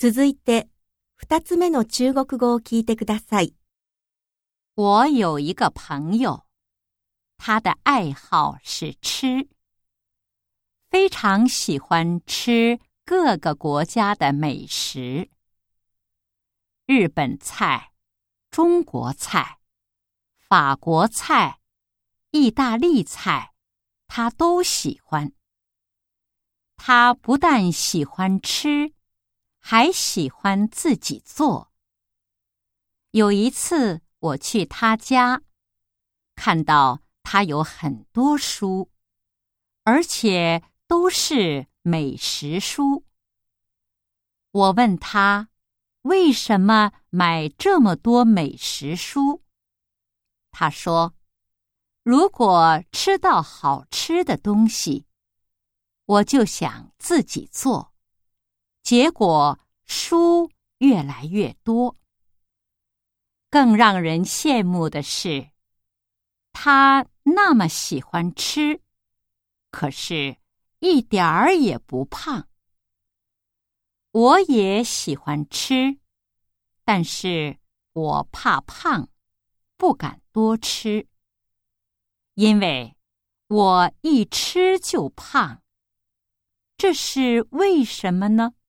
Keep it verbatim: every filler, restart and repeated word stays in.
続いて、二つ目の中国語を聞いてください。 我有一个朋友，他的爱好是吃，非常喜欢吃各个国家的美食。日本菜、中国菜、法国菜、意大利菜，他都喜欢。他不但喜欢吃，还喜欢自己做。有一次我去他家，看到他有很多书，而且都是美食书。我问他为什么买这么多美食书？他说，如果吃到好吃的东西，我就想自己做，结果书越来越多。更让人羡慕的是，他那么喜欢吃，可是一点儿也不胖。我也喜欢吃，但是我怕胖，不敢多吃，因为我一吃就胖。这是为什么呢？